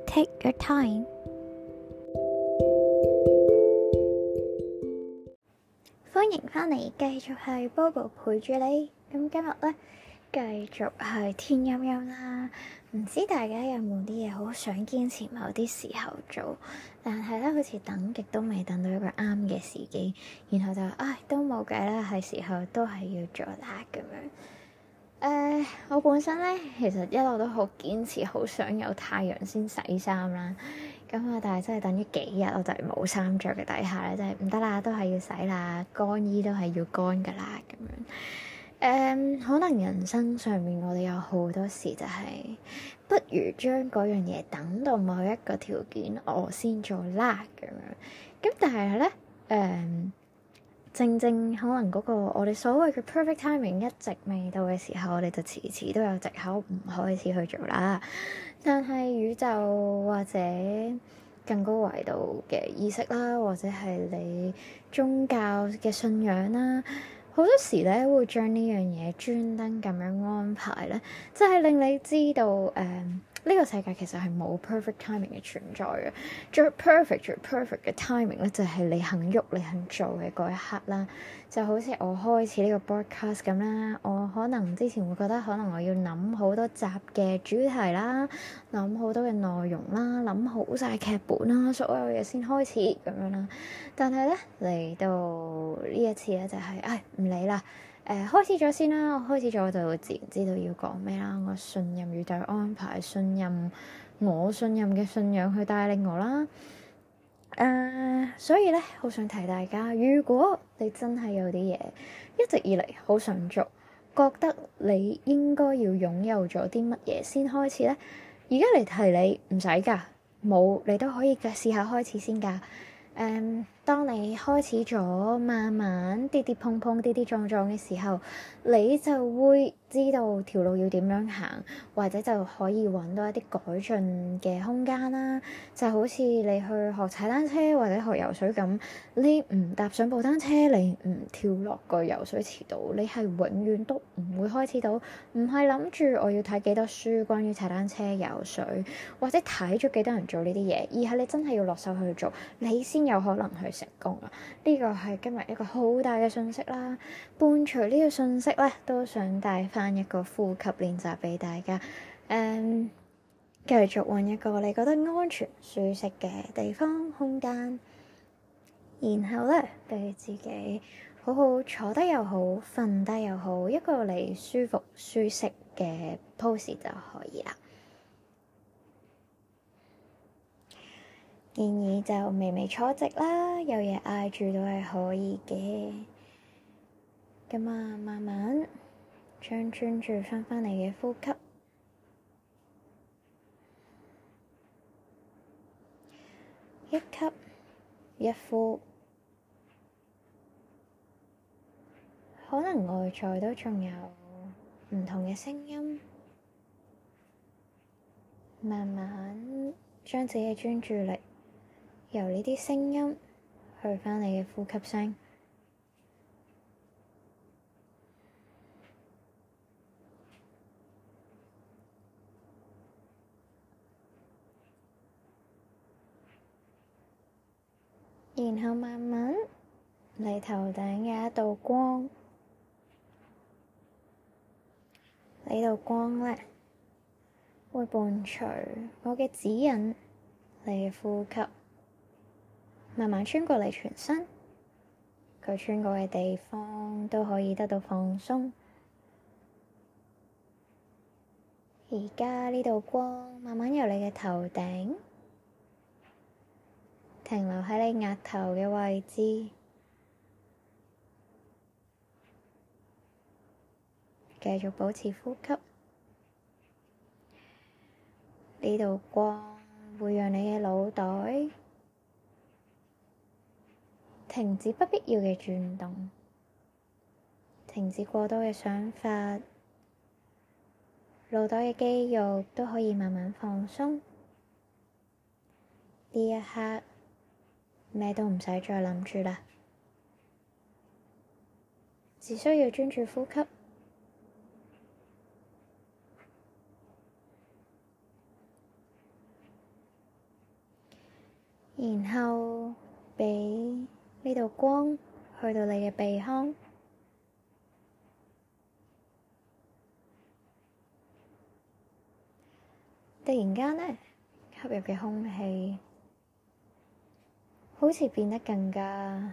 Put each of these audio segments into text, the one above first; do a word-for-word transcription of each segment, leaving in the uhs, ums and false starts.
Take your time。歡迎返嚟，繼續係 Bobo 陪住你。咁今日咧，繼續係天陰陰啦。唔知大家有冇啲嘢好想堅持某啲時候做，但係咧好似等極都未等到一個啱嘅時機，然後就唉都冇計啦，係時候都係要做啦咁樣。誒，uh, 我本身咧其實一路都好堅持，好想有太陽先洗衫啦。咁啊，但係真係等咗幾日，我就係冇衫着嘅底下咧，真係唔得啦，都係要洗啦，乾衣都係要乾噶啦咁樣。誒、um, 可能人生上面我哋有好多時就係、是，不如將嗰樣嘢等到某一個條件我先做啦咁樣。咁但係咧，誒、um,。正正可能嗰個我哋所謂嘅 perfect timing 一直未到嘅時候，我哋就遲遲都有藉口唔開始去做啦。但係宇宙或者更高維度嘅意識啦，或者係你宗教嘅信仰啦，好多時咧會將呢樣嘢專登咁樣安排咧，即係令你知道誒。嗯呢個世界其實係冇 perfect timing 嘅存在嘅，最 perfect 最 perfect 嘅 timing 咧就係你肯喐你肯做嘅嗰一刻啦。就好似我開始呢個 broadcast 咁啦，我可能之前會覺得可能我要諗好多集嘅主題啦，諗好多嘅內容啦，諗好晒劇本啦，所有嘢先開始咁樣啦。但係咧嚟到呢一次咧就係、是，唉唔理啦。誒、呃、開始咗先啦，我開始咗我就會自然知道要講咩啦。我信任宇宙安排，信任我信任嘅信仰去帶領我啦。誒、呃，所以咧好想提大家，如果你真係有啲嘢一直以嚟好想做，覺得你應該要擁有咗啲乜嘢先開始咧，而家嚟提你唔使㗎，冇你都可以嘅試下開始先㗎。誒，um, 當你開始咗慢慢跌跌碰碰、跌跌撞撞嘅時候，你就會知道條路要點樣行，或者就可以揾到一啲改進嘅空間啦。就好似你去學踩單車或者學游水咁，你唔踏上部單車，你唔跳落個游水池度，你係永遠都唔會開始到。唔係諗住我要睇幾多書關於踩單車、游水，或者睇咗幾多人做呢啲嘢，而係你真係要落手去做，你先有可能去成功啊！呢個係今日一個好大嘅信息啦。伴隨呢個信息咧，都想帶翻一個呼吸練習俾大家。誒、嗯，繼續揾一個你覺得安全、舒適嘅地方、空間，然後咧俾自己好好坐低又好，瞓低又好，一個你舒服、舒適嘅 pose 就可以啦。建議就微微坐直啦，有嘢挨住都係可以嘅。咁啊，慢慢將專注翻返嚟嘅呼吸，一吸一呼，可能外在都仲有唔同嘅聲音，慢慢將自己嘅專注力由呢啲聲音去返你嘅呼吸聲，然後慢慢你頭頂有一道光，呢道光咧會伴隨我嘅指引，你嘅呼吸慢慢穿過你全身，佢穿過嘅地方都可以得到放鬆。而家呢道光慢慢由你嘅頭頂停留喺你額頭嘅位置，繼續保持呼吸。呢道光會讓你嘅腦袋停止不必要嘅轉動，停止過多嘅想法，腦袋嘅肌肉都可以慢慢放鬆。呢一刻咩都唔使再諗住啦，只需要專注呼吸。 然後畀呢度光去到你嘅鼻腔，突然間呢，吸入嘅空氣好似變得更加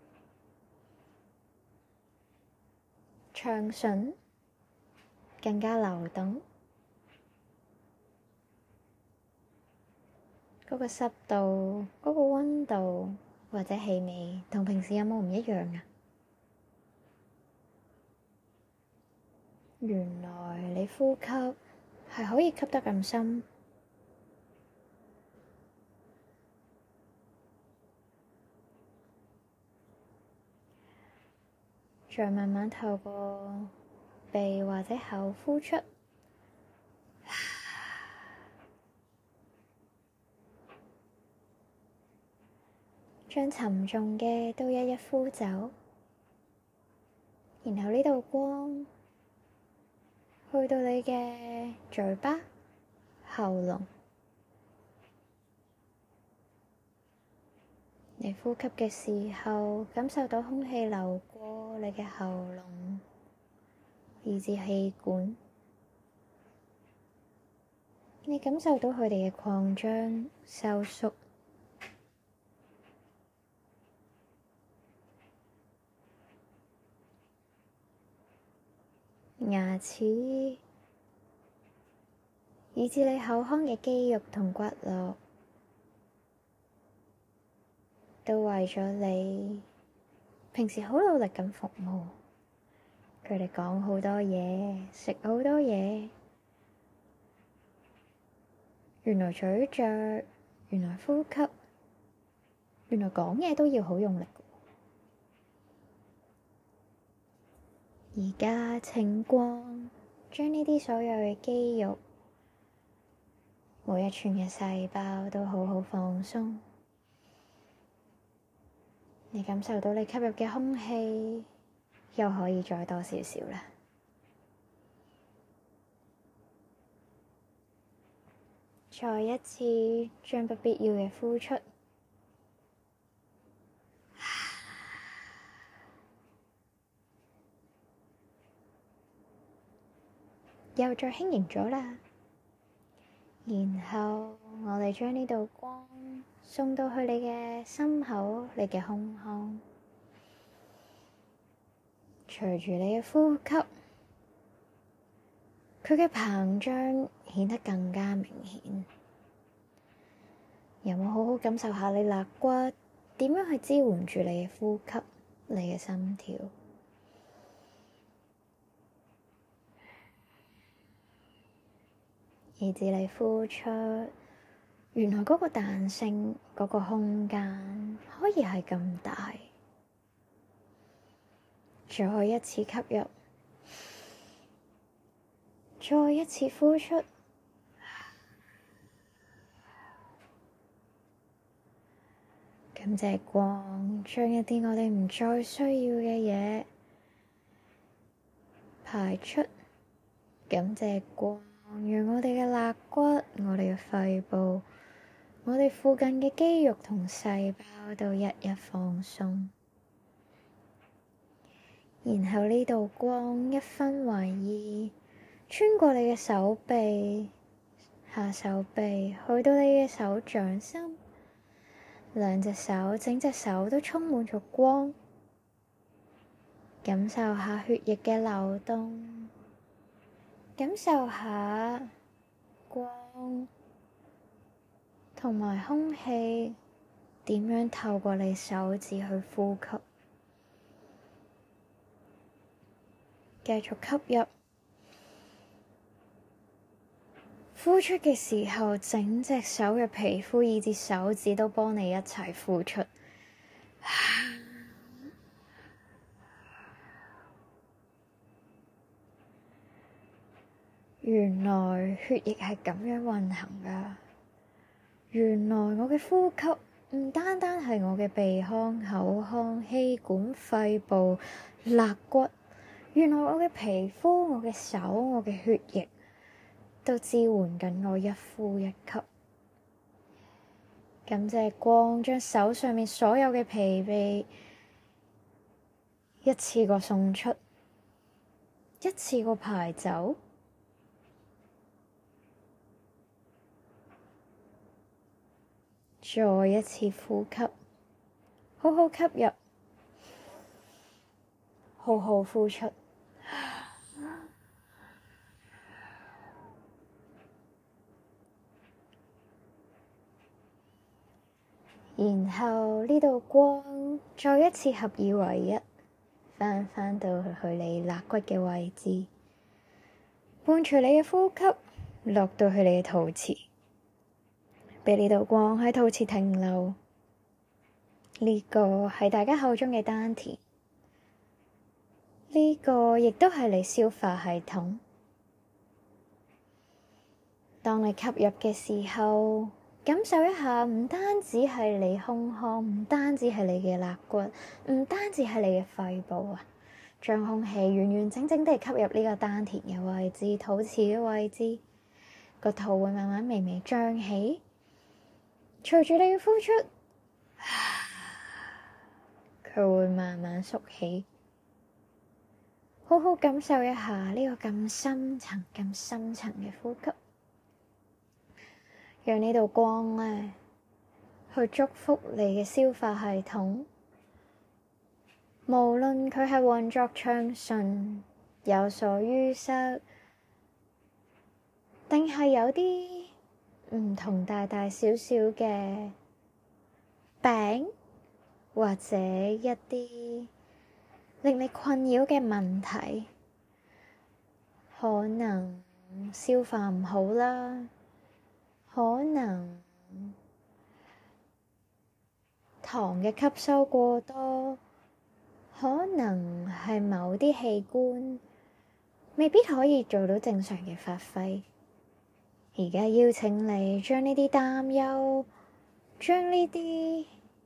暢順，更加流動。嗰個濕度、嗰個溫度或者氣味，同平時有冇唔一樣啊？原來你呼吸係可以吸得咁深，再慢慢透過鼻或者口呼出。將沉重嘅都一一呼走，然後呢道光去到你嘅嘴巴、喉嚨，你呼吸嘅時候，感受到空氣流過你嘅喉嚨，以至氣管，你感受到佢哋嘅擴張、收縮。牙齒，以至你口腔嘅肌肉同骨骼，都為咗你平時好努力咁服務。佢哋講好多嘢，食好多嘢。原來咀嚼，原來呼吸，原來講嘢都要好用力。而家請光將呢啲所有嘅肌肉，每一寸嘅細胞都好好放鬆。你感受到你吸入嘅空氣又可以再多少少啦。再一次將不必要嘅呼出。又再輕盈咗啦，然後我哋將呢道光送到去你嘅心口、你嘅胸腔，隨住你嘅呼吸，佢嘅膨脹顯得更加明顯。有冇好好感受下你肋骨點樣去支援住你嘅呼吸、你嘅心跳？以至你呼出，原來嗰個彈性、嗰個空間可以係咁大。再一次吸入，再一次呼出，感謝光將一啲我哋唔再需要嘅嘢排出，感謝光。讓我哋嘅肋骨、我哋嘅肺部、我哋附近嘅肌肉同細胞都一一放鬆，然後呢道光一分為二，穿過你嘅手臂、下手臂，去到你嘅手掌心，兩隻手、整隻手都充滿咗光，感受下血液嘅流動。感受下光同埋空氣點樣透過你手指去呼吸，繼續吸入，呼出嘅時候，整隻手嘅皮膚以至手指都幫你一齊呼出。原來血液係咁樣運行㗎。原來我嘅呼吸唔單單係我嘅鼻腔、口腔、氣管、肺部、肋骨。原來我嘅皮膚、我嘅手、我嘅血液都支援緊我一呼一吸。 感謝光將手上面所有嘅疲憊一次過送出，一次過排走。再一次呼吸，好好吸入，好好呼出。然後呢道光再一次合二為一，翻返到去你肋骨嘅位置，伴隨你嘅呼吸落到去你嘅肚臍，俾呢道光喺肚臍停留。呢個係大家口中嘅丹田，呢個亦都係你消化系統。當你吸入嘅時候，感受一下，唔單止係你胸腔，唔單止係你嘅肋骨，唔單止係你嘅肺部啊，將空氣完完整整地吸入呢個丹田嘅位置、肚臍嘅位置，個肚會慢慢微微脹起，隨住你嘅呼出，佢會慢慢縮起。好好感受一下呢個咁深層、咁深層嘅呼吸。讓呢道光呢去祝福你嘅消化系統，無論佢係運作暢順、有所淤塞，定係有啲唔同大大小小嘅病，或者一啲令你困擾嘅問題，可能消化唔好啦，可能糖嘅吸收過多，可能係某啲器官未必可以做到正常嘅發揮。而家邀請你將呢啲擔憂，將呢啲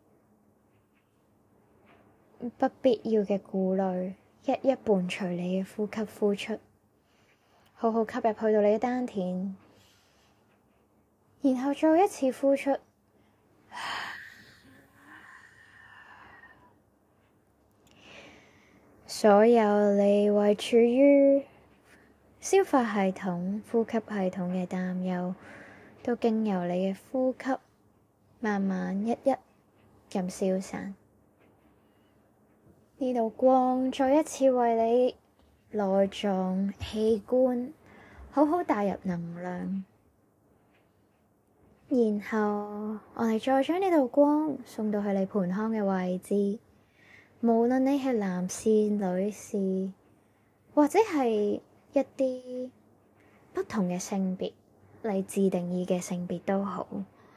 不必要嘅顧慮，一一伴隨你嘅呼吸呼出，好好吸入去到你嘅丹田。然後再一次呼出，所有你為處於消化系統、呼吸系統嘅擔憂，都經由你嘅呼吸，慢慢一一咁消散。呢道光再一次為你內臟器官好好帶入能量。然後我哋再將呢道光送到去你盆腔嘅位置，無論你係男士、女士，或者係一啲不同嘅性別，你自定義嘅性別都好，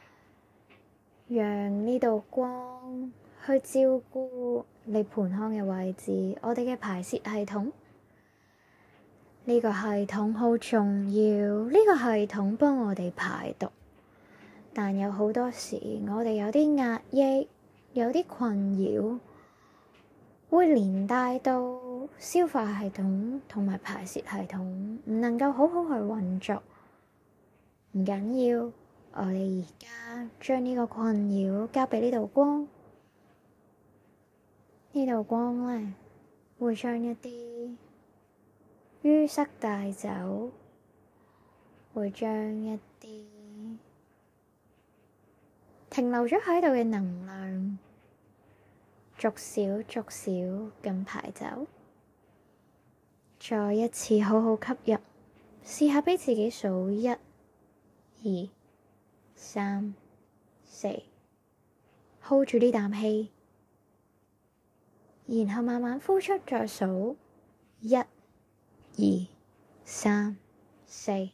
讓呢道光去照顧你盆腔嘅位置。我哋嘅排泄系統，呢個系統好重要，呢個系統幫我哋排毒。但有好多時，我哋有啲壓抑，有啲困擾，會連帶到消化系統同埋排泄系統唔能夠好好去運作。唔緊要，我哋而家將呢個困擾交俾呢道光，呢道光呢會將一啲淤塞帶走，會將一啲停留咗喺度嘅能量，逐少逐少咁排走。再一次好好吸入，試下俾自己數一、二、三、四，hold 住呢啖氣，然後慢慢呼出，再數一、二、三、四。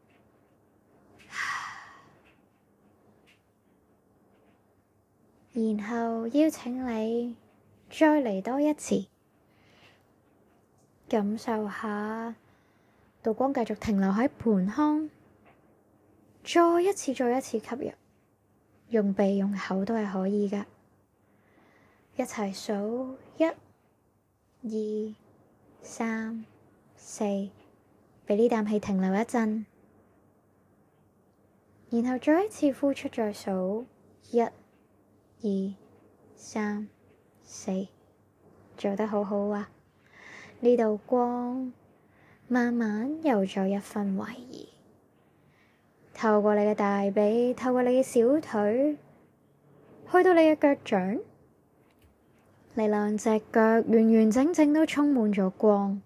然後邀請你再嚟多一次，感受下道光繼續停留喺盆腔，再一次再一次吸入，用鼻用口都係可以㗎。一齊數一、二、三、四，俾呢啖氣停留一陣，然後再一次呼出，再數一、二、三、四，做得好好啊！呢道光慢慢有咗一分為二，透過你嘅大髀，透過你嘅小腿，去到你嘅腳掌，你兩隻腳完完整整都充滿咗光。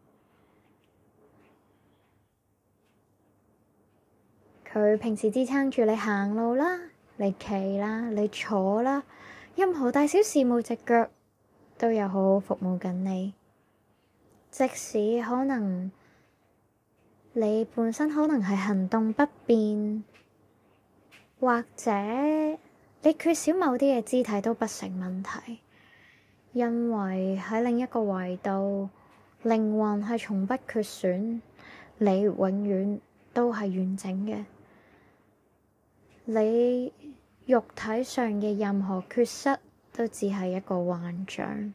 佢平時支撐住你行路啦，你企啦，你坐啦，任何大小事務，隻腳都有好好服務緊你。即使可能你本身可能係行動不便，或者你缺少某啲嘅肢體都不成問題，因為喺另一個維度，靈魂係從不缺損，你永遠都係完整嘅。你肉體上嘅任何缺失都只係一個幻象。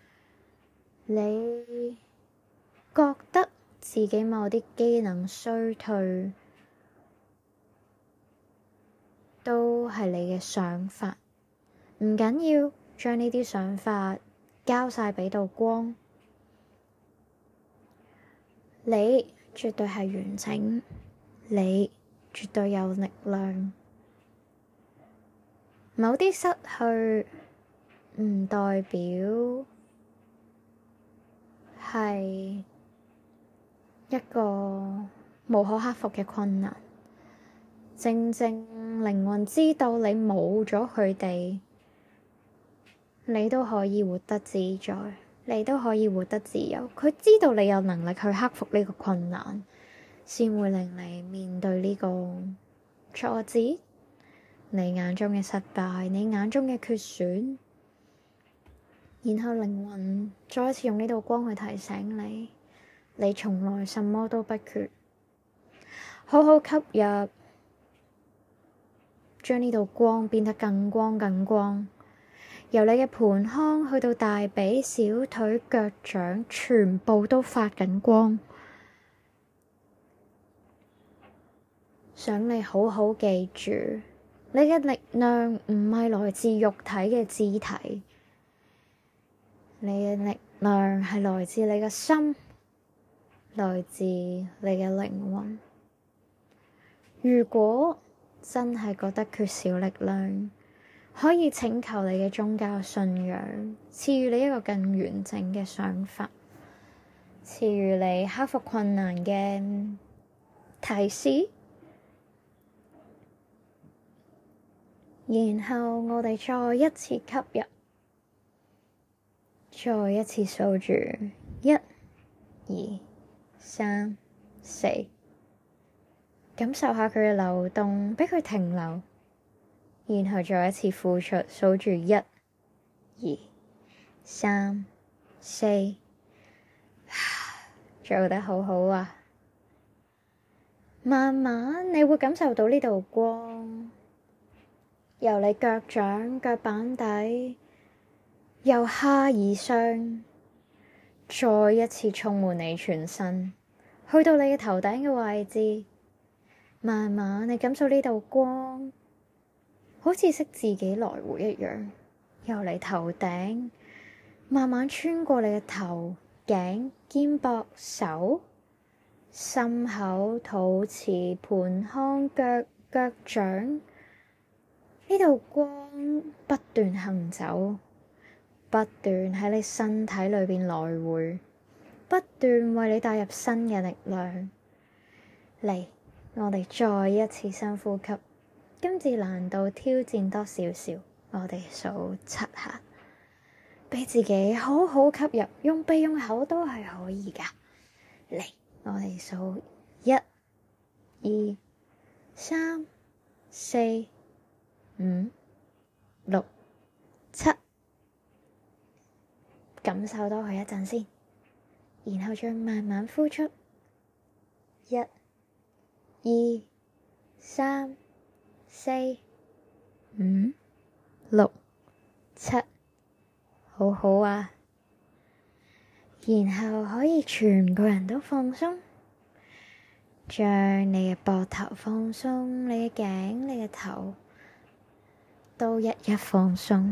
你覺得自己某啲機能衰退，都係你嘅想法，唔緊要，將呢啲想法交晒畀道光。你絕對係完整，你絕對有力量。某啲失去唔代表係一個無可克服嘅困難，正正靈魂知道你冇咗佢哋，你都可以活得自在，你都可以活得自由。佢知道你有能力去克服呢個困難，先會令你面對呢個挫折，你眼中嘅失敗，你眼中嘅缺損，然後靈魂再一次用呢道光去提醒你，你從來什麼都不缺。好好吸入，將呢道光變得更光更光，由你嘅盆腔去到大髀、小腿、腳掌，全部都發緊光。想你好好記住，你嘅力量唔係來自肉體嘅肢體，你嘅力量係來自你嘅心，來自你嘅靈魂。如果真係覺得缺少力量，可以請求你嘅宗教信仰賜予你一個更完整嘅想法，賜予你克服困難嘅提示。然後我哋再一次吸入，再一次數住一、二、三、四，感受下佢嘅流動，畀佢停留，然後再一次呼出，數住一、二、三、四，做得好好啊！慢慢你會感受到呢道光，由你腳掌、腳板底，由下而上，再一次充滿你全身，去到你嘅頭頂嘅位置。慢慢你感受呢道光，好似識自己來回一樣，由你頭頂慢慢穿過你嘅頭、頸、肩膊、手、心口、肚臍、盆腔、腳、腳掌。呢道光不斷行走，不斷喺你身體裏邊來回，不斷為你帶入新嘅力量。嚟，我哋再一次深呼吸，今次難度挑戰多少少，我哋數七下，畀自己好好吸入，用鼻用口都係可以㗎。嚟，我哋數一、二、三、四、五、六、七，感受多佢一陣先，然後再慢慢呼出。一、二、三、四、五、六、七，好好啊！然後可以全個人都放鬆，將你嘅膊頭放鬆，你嘅頸、你嘅頭。 都一一放鬆。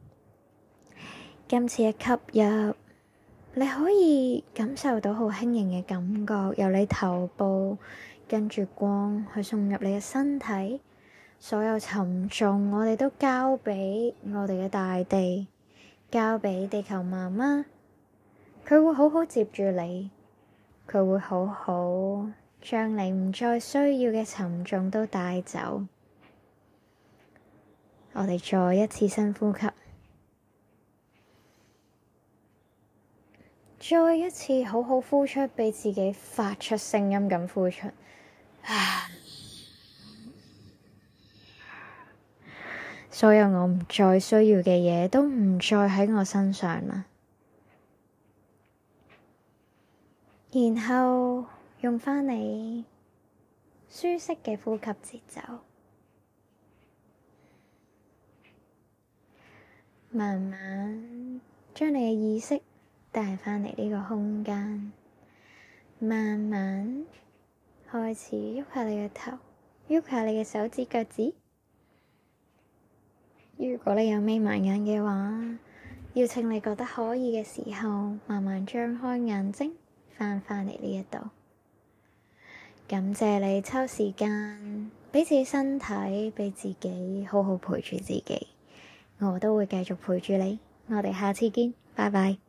今次一吸入，你可以感受到好輕盈嘅感覺，由你頭部跟住光去送入你嘅身體，所有沉重我哋都交俾我哋嘅大地，交俾地球媽媽，佢會好好接住你，佢會好好將你唔再需要嘅沉重都帶走。我哋再一次深呼吸。再一次好好呼出，畀自己發出聲音咁呼出。所有我唔再需要嘅嘢都唔再喺我身上啦。然後用返你舒適嘅呼吸節奏，慢慢將你嘅意識帶返嚟呢個空間，慢慢開始喐下你嘅頭，喐下你嘅手指腳趾。如果你有眯埋眼嘅話，邀請你覺得可以嘅時候，慢慢張開眼睛，翻返嚟呢一度。感謝你抽時間畀自己身體，畀自己好好陪住自己。我都會繼續陪住你。我哋下次見，拜拜。